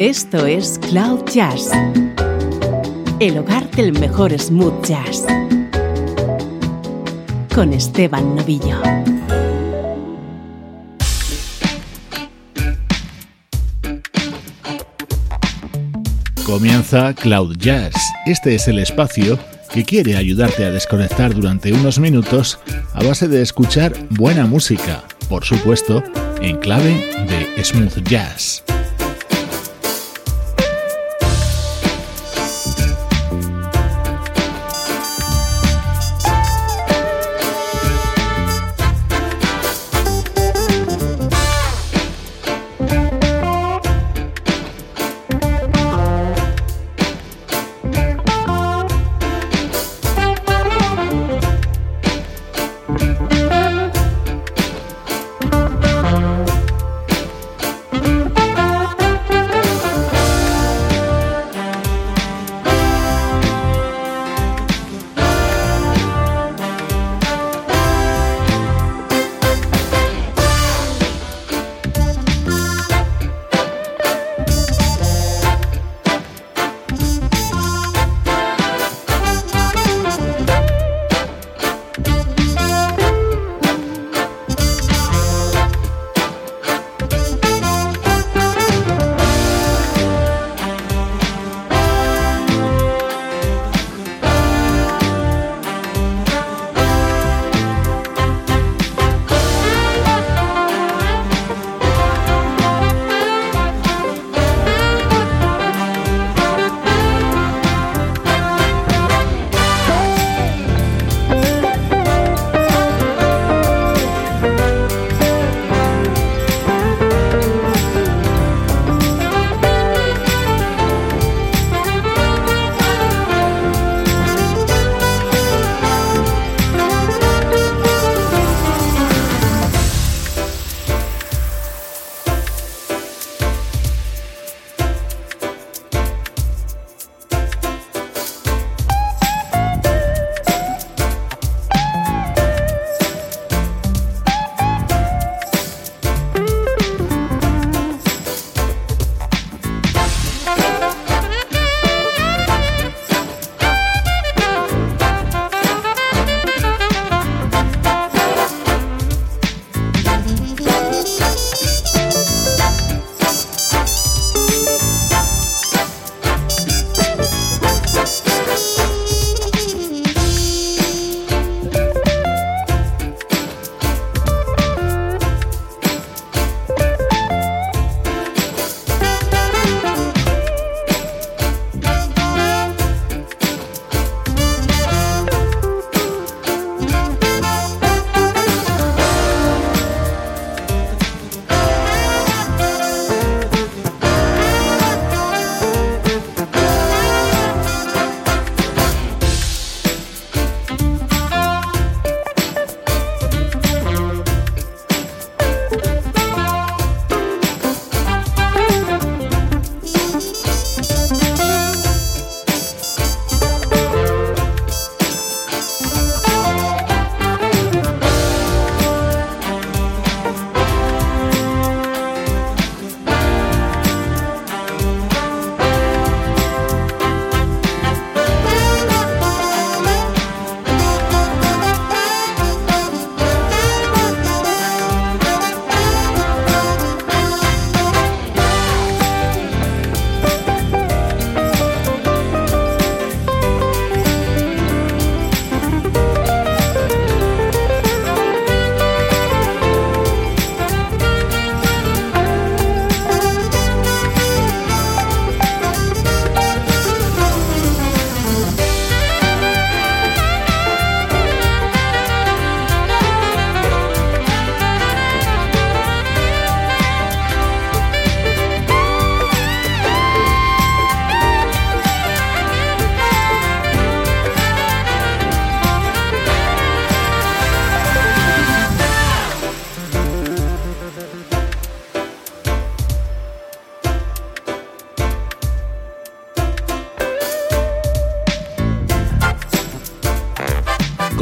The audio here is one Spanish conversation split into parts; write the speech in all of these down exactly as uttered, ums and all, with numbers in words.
Esto es Cloud Jazz, el hogar del mejor smooth jazz, con Esteban Novillo. Comienza Cloud Jazz. Este es el espacio que quiere ayudarte a desconectar durante unos minutos a base de escuchar buena música, por supuesto, en clave de smooth jazz.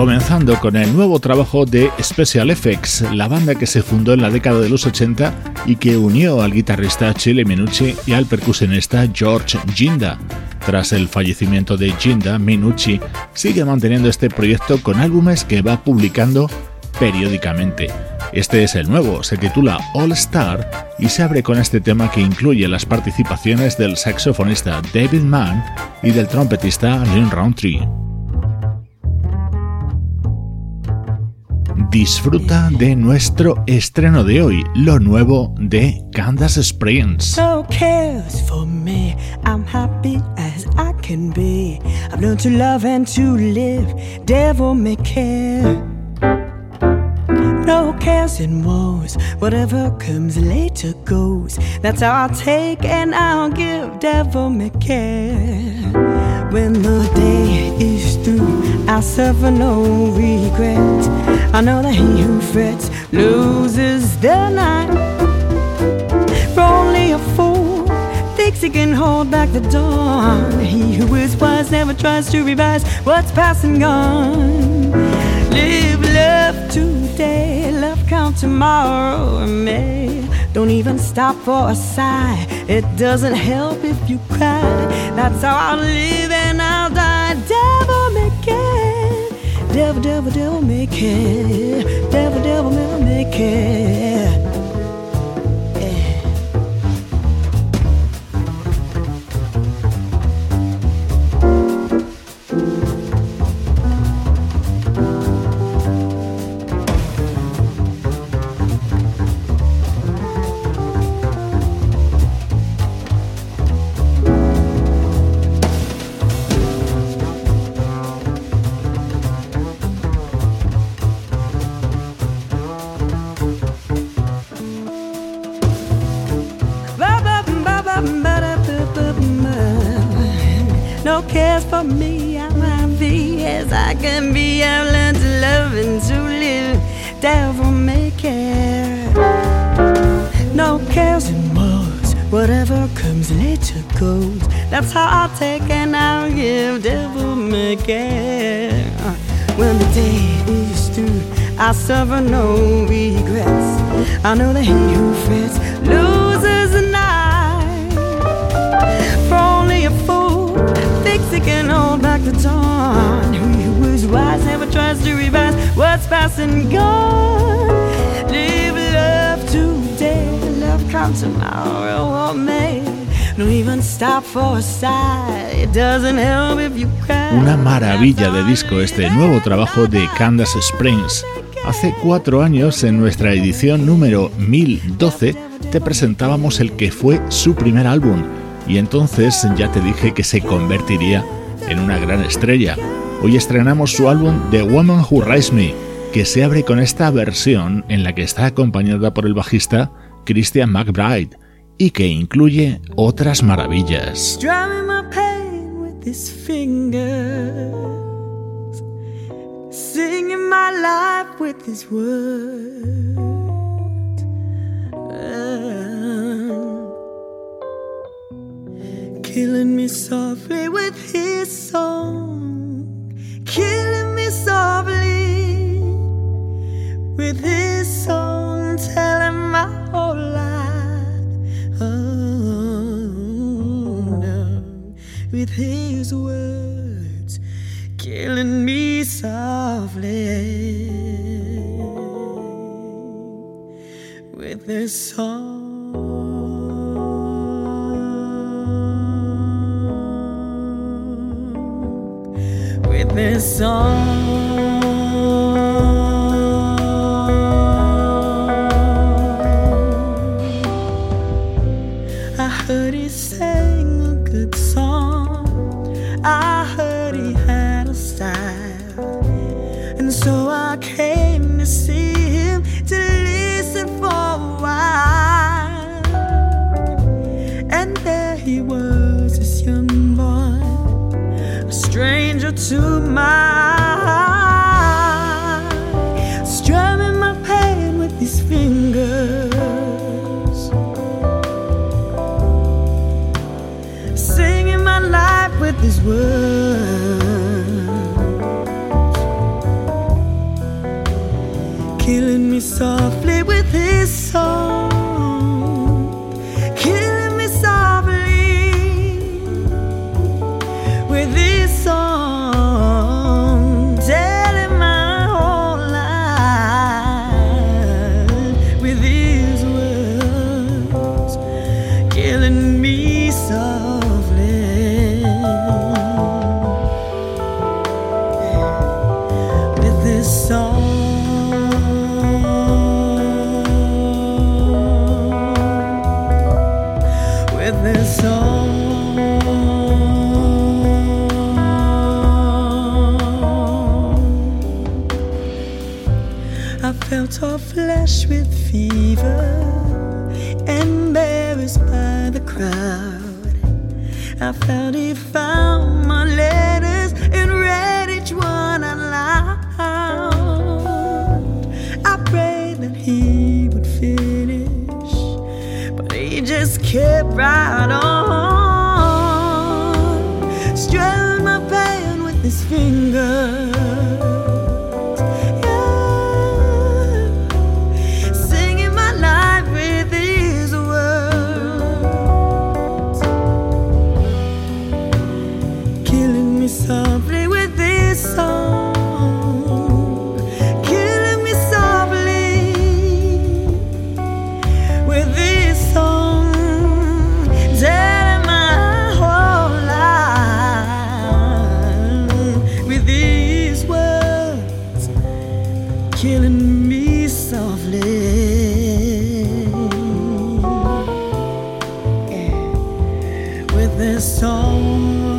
comenzando con el nuevo trabajo de Special Effects, la banda que se fundó en la década de los ochenta y que unió al guitarrista Chile Minucci y al percusionista George Ginda. Tras el fallecimiento de Ginda, Minucci sigue manteniendo este proyecto con álbumes que va publicando periódicamente. Este es el nuevo, se titula All Star y se abre con este tema que incluye las participaciones del saxofonista David Mann y del trompetista Lynn Rountree. Disfruta de nuestro estreno de hoy, lo nuevo de Candace Springs. No cares for me, I'm happy as I can be. I've learned to love and to live, devil may care. No cares and woes, whatever comes later goes. That's how I'll take and I'll give, devil may care. When the day is through, I'll suffer no regret. I know that he who frets loses the night. For only a fool thinks he can hold back the dawn. He who is wise never tries to revise what's past and gone. Live love today, love count tomorrow and May. Don't even stop for a sigh, it doesn't help if you cry. That's how I'll live and I'll die. Devil may care, devil, devil, devil may care. Devil, devil, devil may care. Cares for me, I'm happy as I can be. I've learned to love and to live, devil may care. No cares and woes, whatever comes later goes. That's how I'll take and I'll give, devil may care. When the day is through, I'll suffer no regrets. I know that he who frets loses the night. For only a fool thinks he can hold back the dawn. He who is wise never tries to revise what's past and gone. Live love today, love count tomorrow or May. Don't even stop for a sigh, it doesn't help if you cry. Una maravilla de disco este nuevo trabajo de Candace Springs. Hace cuatro años, en nuestra edición número mil doce, te presentábamos el que fue su primer álbum. Y entonces ya te dije que se convertiría en una gran estrella. Hoy estrenamos su álbum The Woman Who Raised Me, que se abre con esta versión en la que está acompañada por el bajista Christian McBride y que incluye otras maravillas. Drumming my pain with his fingers, singing my life with his words. Killing me softly with his song, killing me softly with his song, telling my whole life, oh no, with his words, killing me softly with his song. With this song, I heard he sang a good song, I heard he had a style, and so I came to see him, to listen for a while. And there he was, this young boy, stranger to my eye, strumming my pain with his fingers, singing my life with his words. song, killing me softly with this song, telling my whole life with these words, killing me softly with this song. This song, I felt her flesh with fever, embarrassed by the crowd. I felt he found my letters and read each one out loud. I prayed that he would finish, but he just kept right on, strung my pain with his fingers, yeah, singing my life with his words, killing me softly with this song, killing me softly with this song, telling my whole life with these words, killing me softly, yeah, with this song.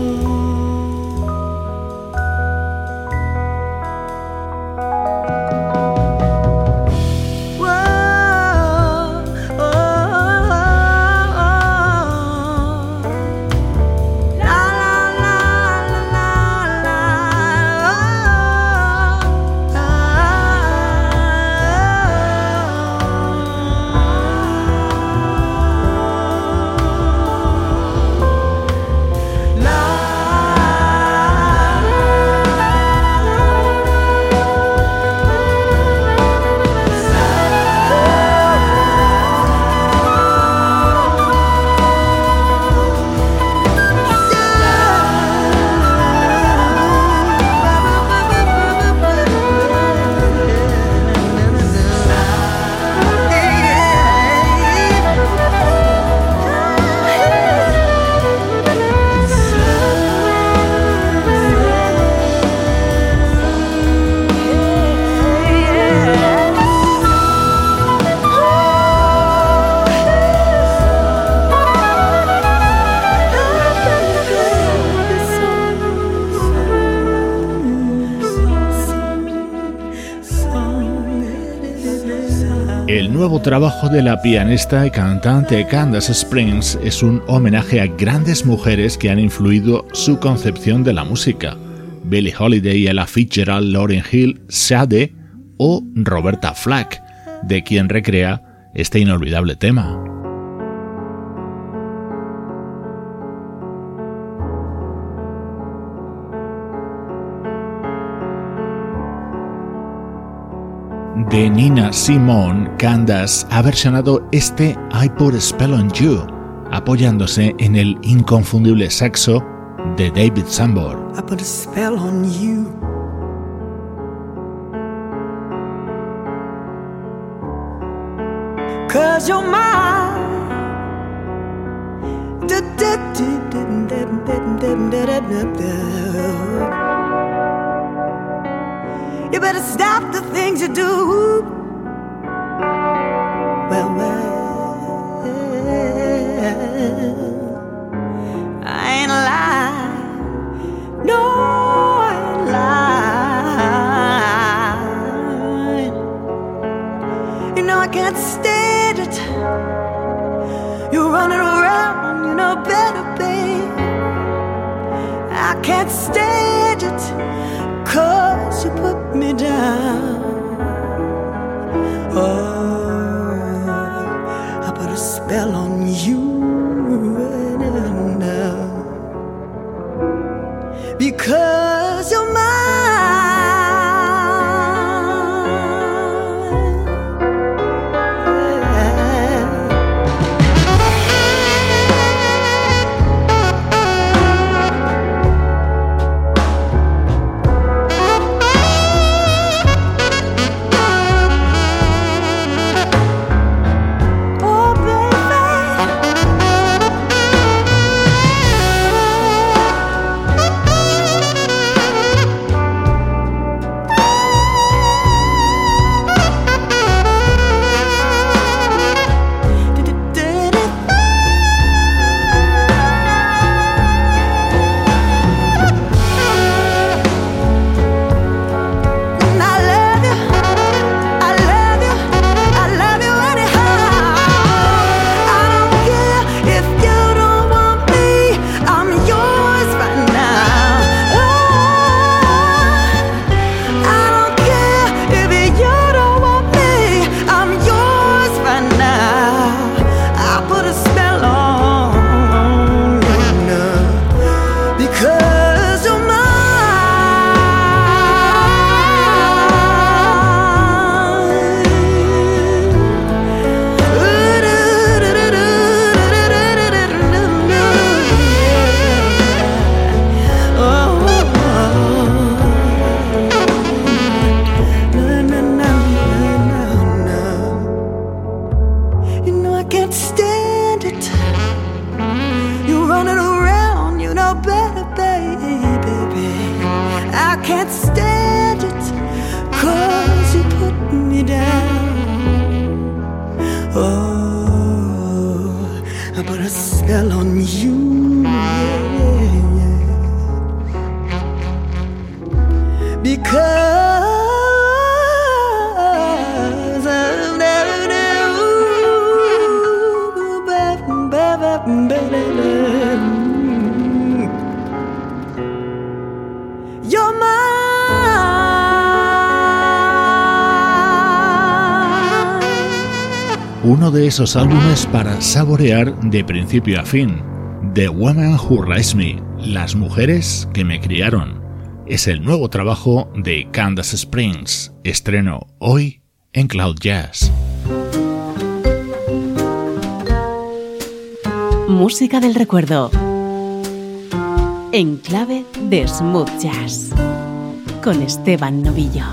El nuevo trabajo de la pianista y cantante Candace Springs es un homenaje a grandes mujeres que han influido su concepción de la música: Billie Holiday, Ella Fitzgerald, Lauryn Hill, Sade o Roberta Flack, de quien recrea este inolvidable tema. De Nina Simone, Candace ha versionado este I Put a Spell on You, apoyándose en el inconfundible saxo de David Sanborn. I put a spell on you. Cause you're mine. You better stop the things you do. Well, well, I ain't lying. No, I ain't lying. You know I can't stand it. You're running around, you know better, babe. I can't stand it. Cause you put me down. Oh, I put a spell on you right now. Because you're mine. Yeah. Oh, I put a spell on you, yeah, yeah. Because of that, you're mine. Uno de esos álbumes para saborear de principio a fin. The Woman Who Raised Me, Las mujeres que me criaron. Es el nuevo trabajo de Candace Springs. Estreno hoy en Cloud Jazz. Música del recuerdo. En clave de smooth jazz. Con Esteban Novillo.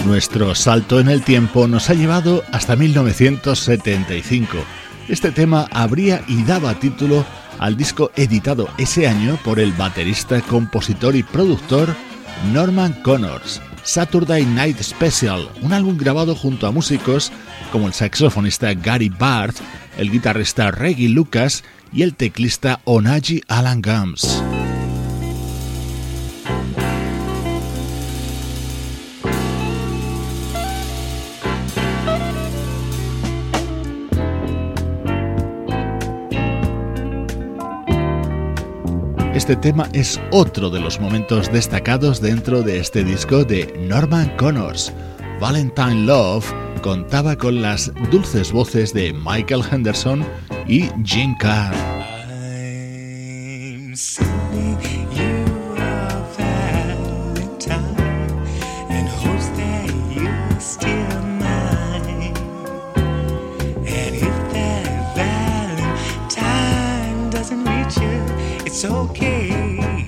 Nuestro salto en el tiempo nos ha llevado hasta mil novecientos setenta y cinco. Este tema abría y daba título al disco editado ese año por el baterista, compositor y productor Norman Connors, Saturday Night Special, un álbum grabado junto a músicos como el saxofonista Gary Barth, el guitarrista Reggie Lucas y el teclista Onaji Alan Gums. Este tema es otro de los momentos destacados dentro de este disco de Norman Connors. Valentine Love contaba con las dulces voces de Michael Henderson y Gene Carr. It's okay.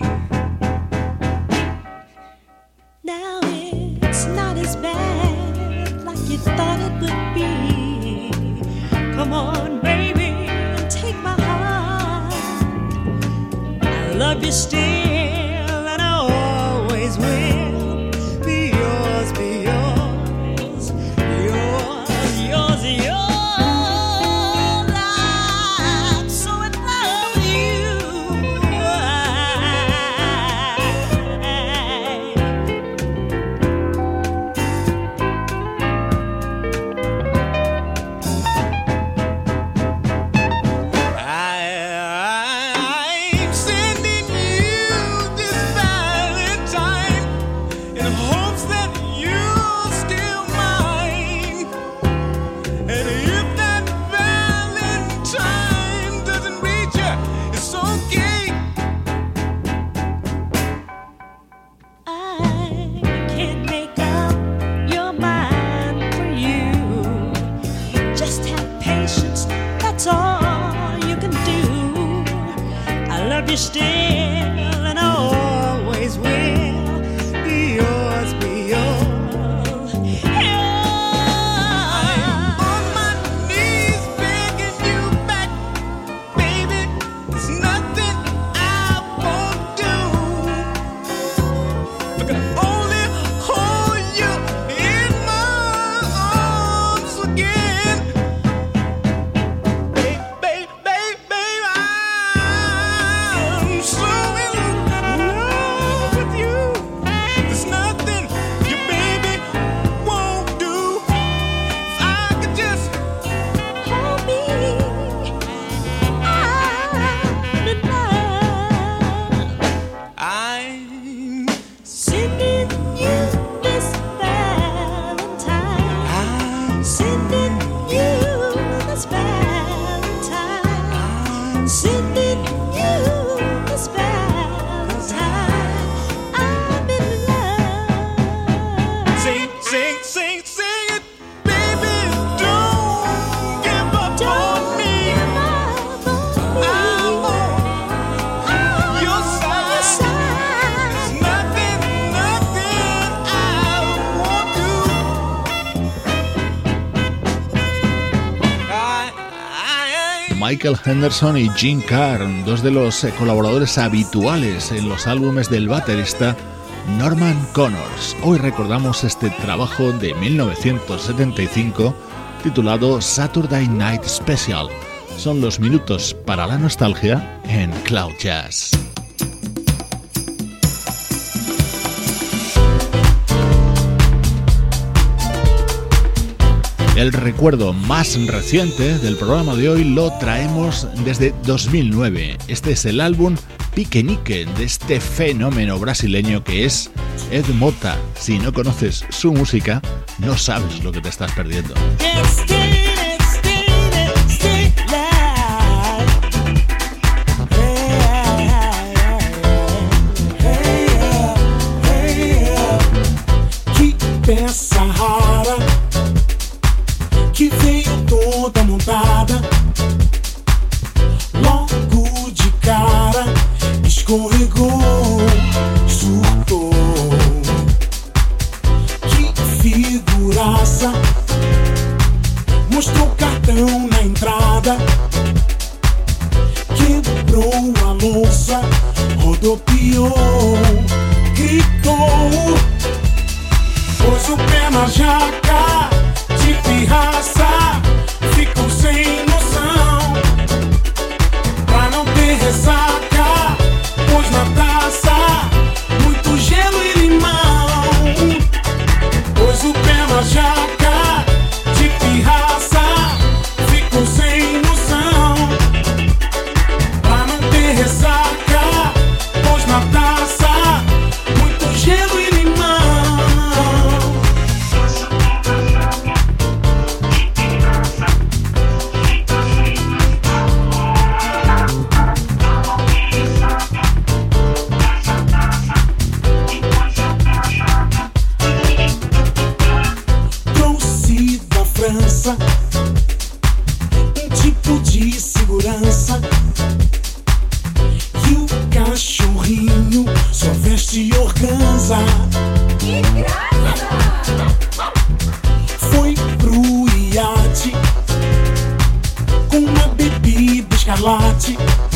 Now it's not as bad like you thought it would be. Come on, baby, and take my heart. I love you still, and I always will. Be yours, be yours, yours, yours, yours. Michael Henderson y Gene Carr, dos de los colaboradores habituales en los álbumes del baterista Norman Connors. Hoy recordamos este trabajo de mil novecientos setenta y cinco titulado Saturday Night Special. Son los minutos para la nostalgia en Cloud Jazz. El recuerdo más reciente del programa de hoy lo traemos desde dos mil nueve. Este es el álbum Piquenique de este fenómeno brasileño que es Ed Mota. Si no conoces su música, no sabes lo que te estás perdiendo. Que veio toda montada, logo de cara, escorregou, surtou. Que Lavou a louça, rodopiou, gritou, pôs o pé na jaca, de pirraça, ficou sem noção. Pra não ter ressaca, pôs na taça muito gelo e limão. Pôs o pé na jaca, de pirraça, ficou sem noção. Pra não ter ressaca, pôs na taça muito gelo e limão. Trouxe da França um tipo de segurança, e o cachorrinho só veste organza. Que graça! Foi pro iate com uma bebida escarlate,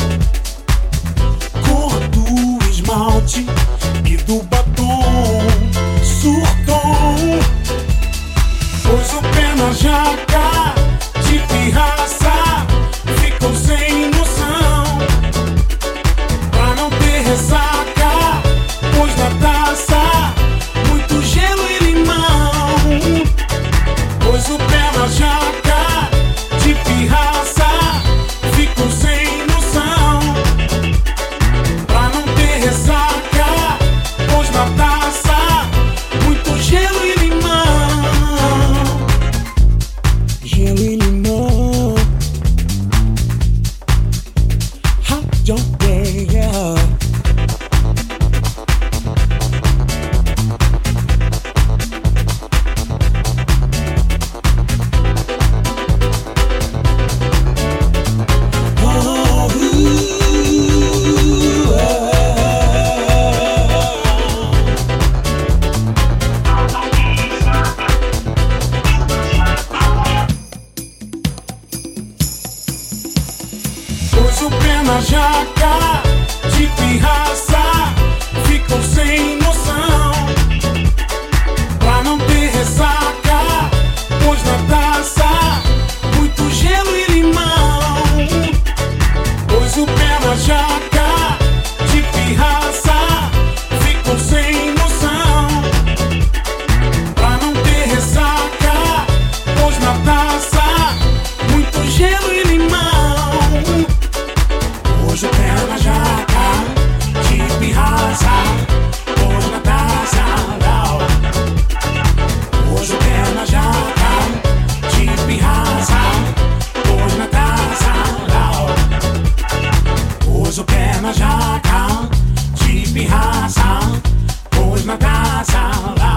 cor do esmalte e do batom. Surtou, pôs o pé na jaca, de pirraça, ficou sem noção. Pra não ter ressaca, pôs na taça muito gelo e limão. Pôs o pé na jaca, de pirraça, ficou sem noção. Pra não ter ressaca, pôs na taça muito gelo e limão. Gelo e limão. Hot dog, yeah. Oh, ooh, ah. Pôs o pé na jaca, de pirraça, ficou sem noção. Pra não ter ressaca, pôs na taça muito gelo e limão. Pôs o pé na jaca, de pirraça, ficou sem noção. Pra não ter ressaca, pôs na taça muito gelo e limão. Pôs o pé na jaca, de pirraça, pôs na taça. Pôs o pé na jaca, de pirraça, pôs na taça. Pôs o pé na jaca, de pirraça, pôs na taça.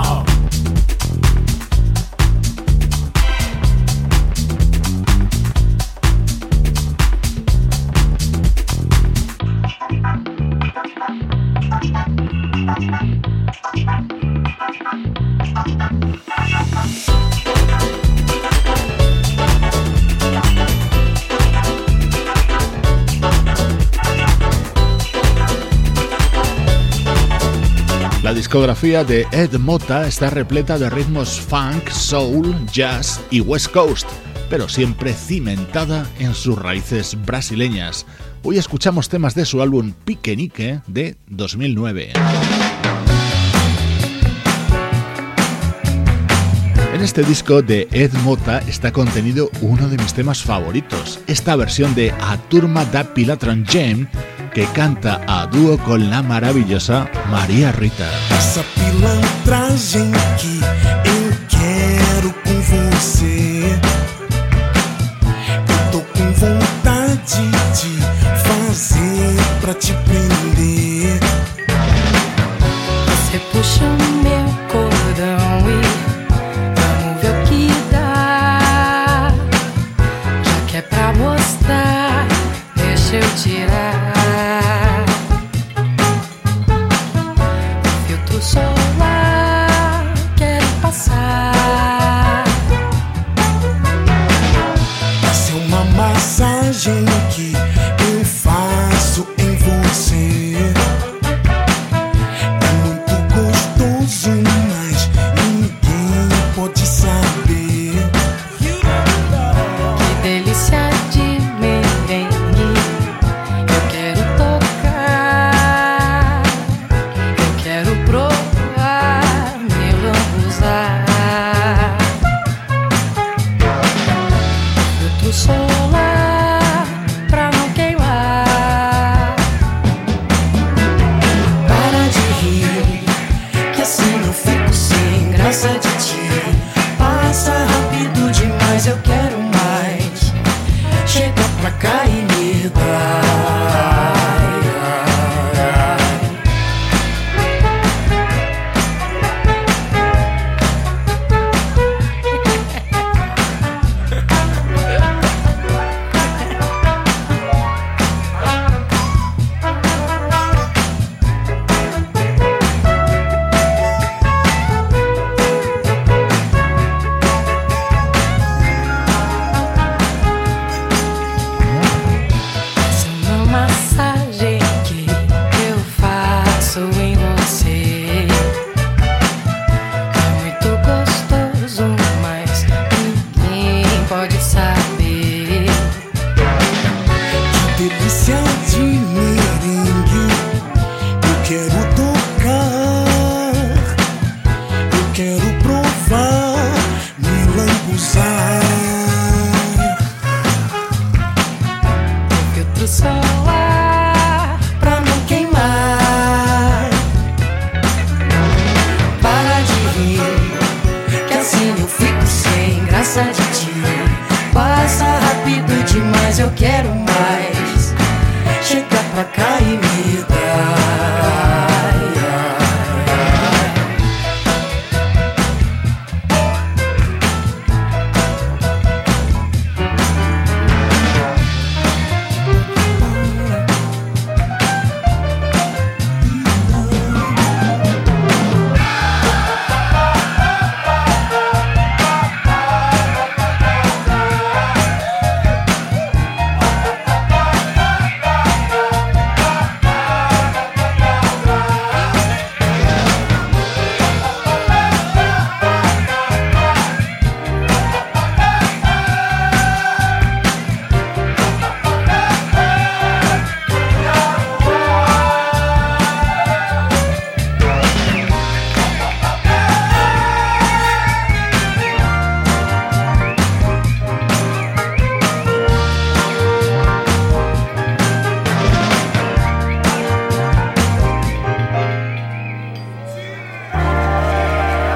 La discografía de Ed Mota está repleta de ritmos funk, soul, jazz y West Coast, pero siempre cimentada en sus raíces brasileñas. Hoy escuchamos temas de su álbum Piquenique de dos mil nueve. En este disco de Ed Mota está contenido uno de mis temas favoritos, esta versión de A Turma da Pilatron Jam, que canta a dúo con la maravillosa Maria Rita. Essa pilantragem que eu quero com você, eu tô com vontade de fazer pra te prender. Você puxa o meu cordão e vamos ver o que dá. Já que é pra mostrar, deixa eu tirar o filtro solar. Quero passar. Essa é uma massagem que eu faço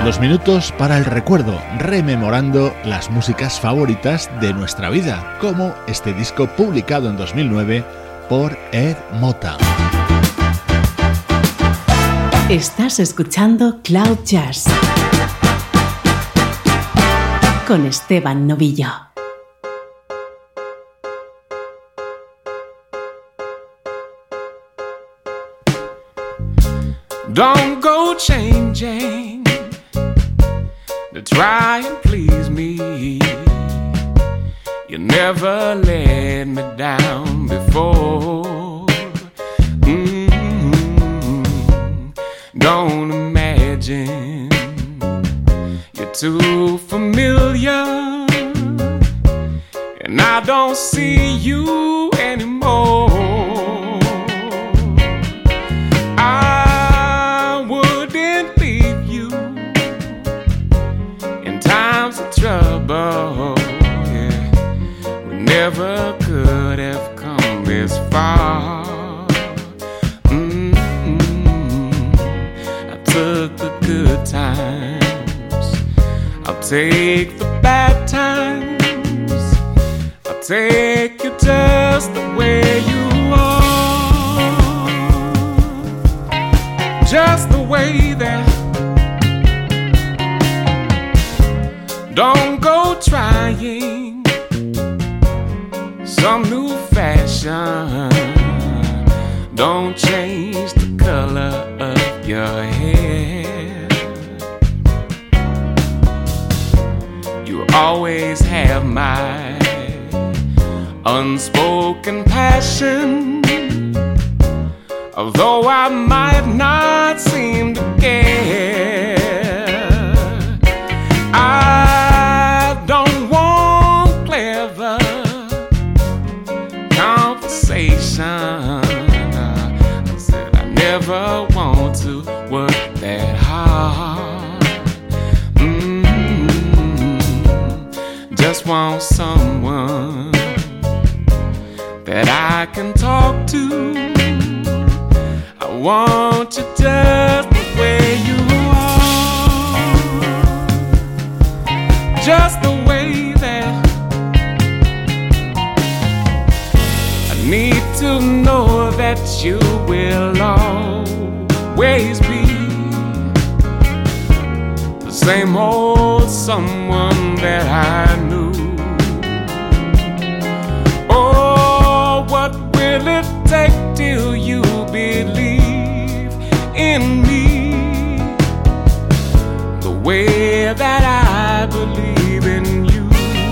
Los minutos para el recuerdo, rememorando las músicas favoritas de nuestra vida, como este disco publicado en dos mil nueve por Ed Mota. Estás escuchando Cloud Jazz con Esteban Novillo. Don't go changing to try and please me. You never let me down before. Mm-hmm. Don't imagine you're too familiar, and I don't see you anymore. I wouldn't leave you in times of trouble. Yeah, we never could have come this far. Mm-hmm. I took the good times, I'll take the bad times, I'll take you just the way you are, just the way that. Don't go trying some new fashion. Don't change the color of your hair. You always have my unspoken passion, although I might not seem to care. I don't want clever conversation. I said I never want to work that hard. Mm-hmm. Just want someone that I can talk to. I want you just the way you are, just the way that. I need to know that you will always be the same old someone that I knew. Oh, what will it take till you believe in me the way that I believe in you?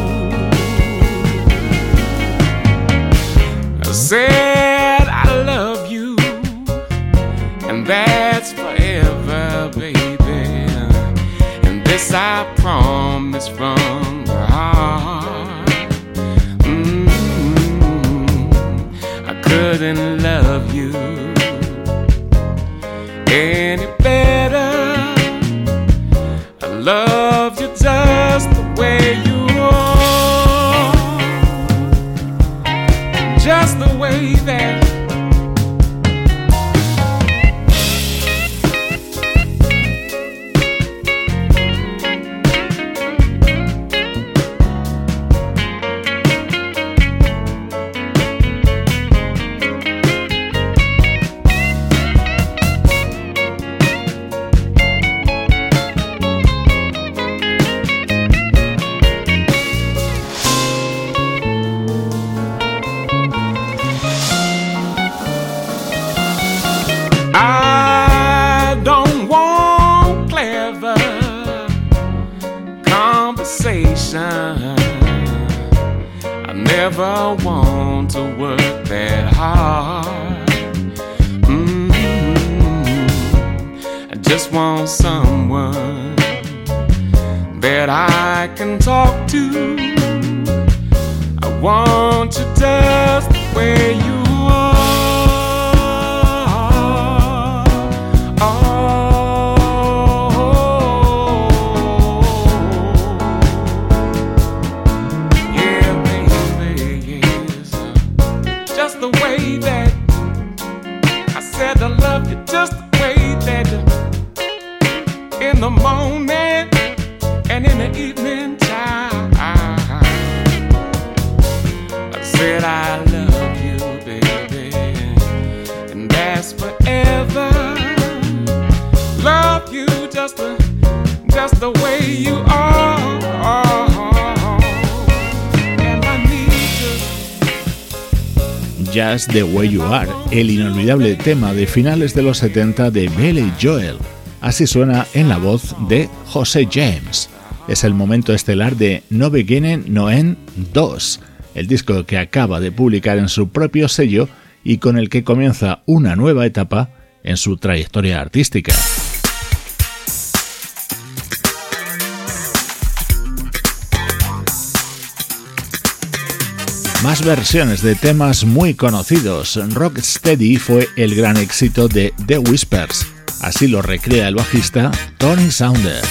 I said I love you, and that's forever, baby, and this I promise from the heart. Mm-hmm. I couldn't love you any better. I love you just the way you are, just the way that. I don't want clever conversation. I never want to work that hard. Mm-hmm. I just want someone that I can talk to. I want you just the way you are. Just the way that in the morning And in the evening time, I said I love you, baby, and that's forever. Love you just the, just the way you are, and I need you. Just the Way You Are, el inolvidable tema de finales de los setenta de Billy Joel. Así suena en la voz de José James. Es el momento estelar de No Beginning No End dos, el disco que acaba de publicar en su propio sello y con el que comienza una nueva etapa en su trayectoria artística. Más versiones de temas muy conocidos. Rocksteady fue el gran éxito de The Whispers. Así lo recrea el bajista Tony Saunders.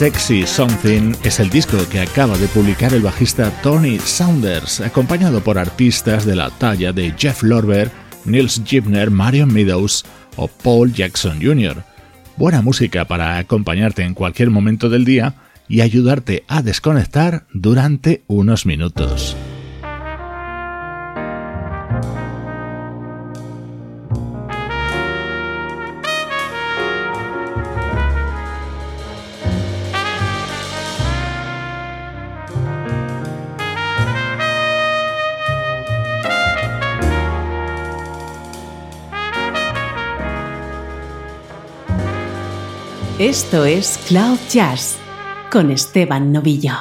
Sexy Something es el disco que acaba de publicar el bajista Tony Saunders, acompañado por artistas de la talla de Jeff Lorber, Nils Gibner, Marion Meadows o Paul Jackson junior Buena música para acompañarte en cualquier momento del día y ayudarte a desconectar durante unos minutos. Esto es Cloud Jazz con Esteban Novillo.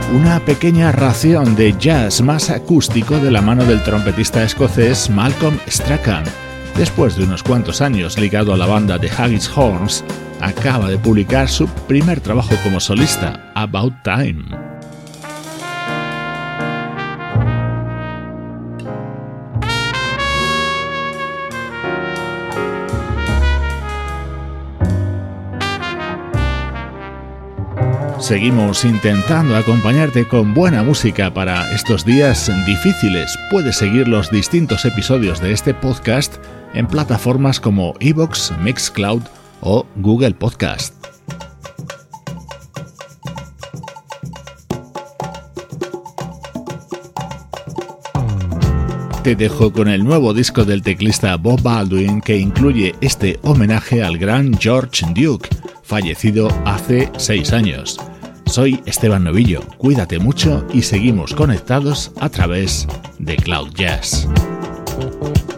una pequeña ración de jazz más acústico de la mano del trompetista escocés Malcolm Strachan. Después de unos cuantos años ligado a la banda de Haggis Horns, acaba de publicar su primer trabajo como solista, About Time. Seguimos intentando acompañarte con buena música para estos días difíciles. Puedes seguir los distintos episodios de este podcast en plataformas como iVoox, Mixcloud o Google Podcast. Te dejo con el nuevo disco del teclista Bob Baldwin, que incluye este homenaje al gran George Duke, fallecido hace seis años. Soy Esteban Novillo, cuídate mucho y seguimos conectados a través de Cloud Jazz.